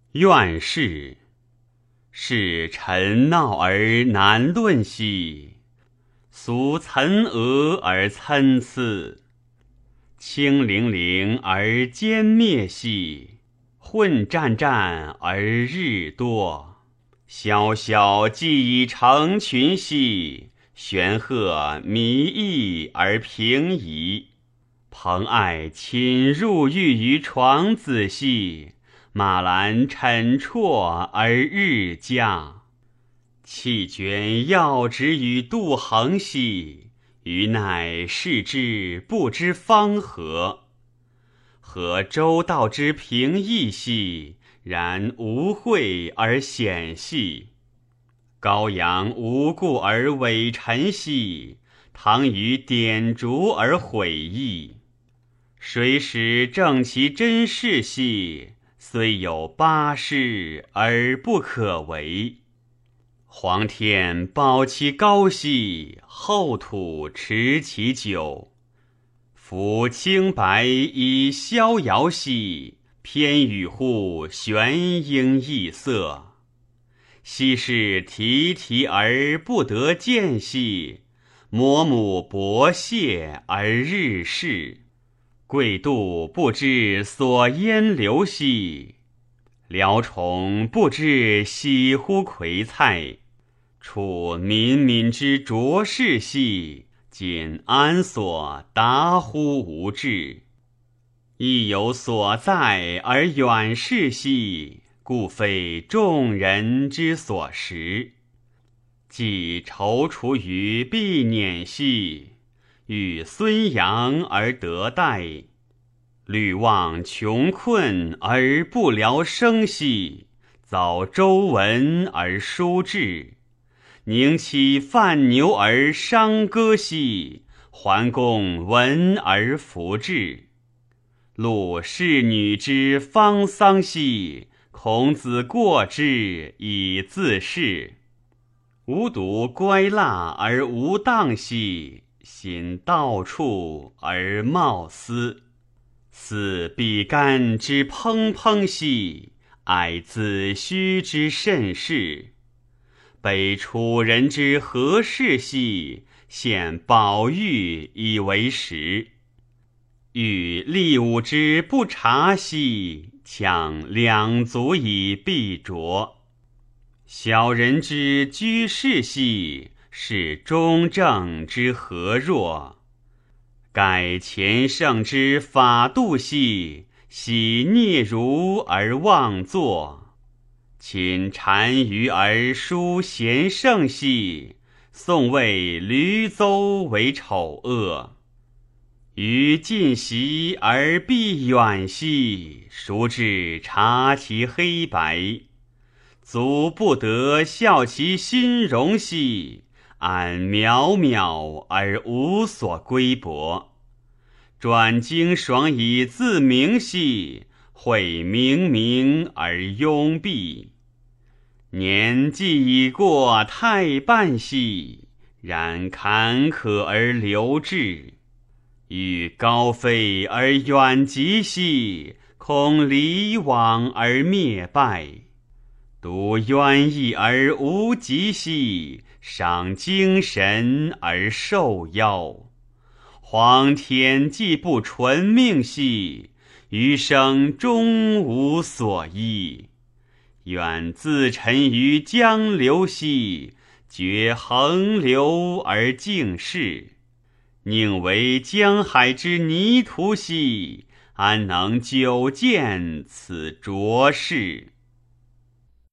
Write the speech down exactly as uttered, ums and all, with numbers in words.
怨世，是臣闹而难论兮，俗岑俄而参差，清凌凌而歼灭兮，混战战而日多。萧萧既以成群兮，玄壑弥溢而平夷。蓬艾侵入狱于床子兮，马兰沉啜而日加。气捐要职于杜衡兮，余乃视之不知方何。何周道之平易兮，然无惠而显细。羔羊无故而伪臣兮，唐于典烛而毁义。谁使正其真事兮，虽有八事而不可为。皇天保其高兮，后土持其久。夫清白以逍遥兮，偏与乎玄英异色。昔是提提而不得见兮，摩母薄谢而日逝。贵度不知所淹流兮，辽虫不知喜乎葵菜。处民民之浊世兮，今安所达乎无志。亦有所在而远视兮，故非众人之所识。既踌躇于必辇兮，遇孙杨而得代。虑望穷困而不聊生兮，遭周文而书志。宁其犯牛而伤歌兮，桓公闻而弗志。录侍女之方丧兮，孔子过之以自适。吾独乖蜡而无当兮，心到处而冒思。思比干之怦怦兮，哀子虚之甚事。悲楚人之何事兮，献宝玉以为食。欲利吾之不察兮，强两足以必啄。小人之居士兮，是中正之何若。盖前圣之法度兮，喜嗫孺而妄作。亲单于而疏贤圣兮，宋谓闾邹为丑恶。于近习而避远兮，孰知察其黑白。足不得笑其心容兮，安渺渺而无所归泊。转经爽以自明兮，会冥冥而庸蔽。年既已过太半兮，然坎坷而流至。欲高飞而远极兮，恐离往而灭败。独渊异而无极兮，伤精神而受夭。皇天既不纯命兮，余生终无所依。愿自沉于江流兮，绝横流而静适。宁为江海之泥土兮，安能久见此浊世。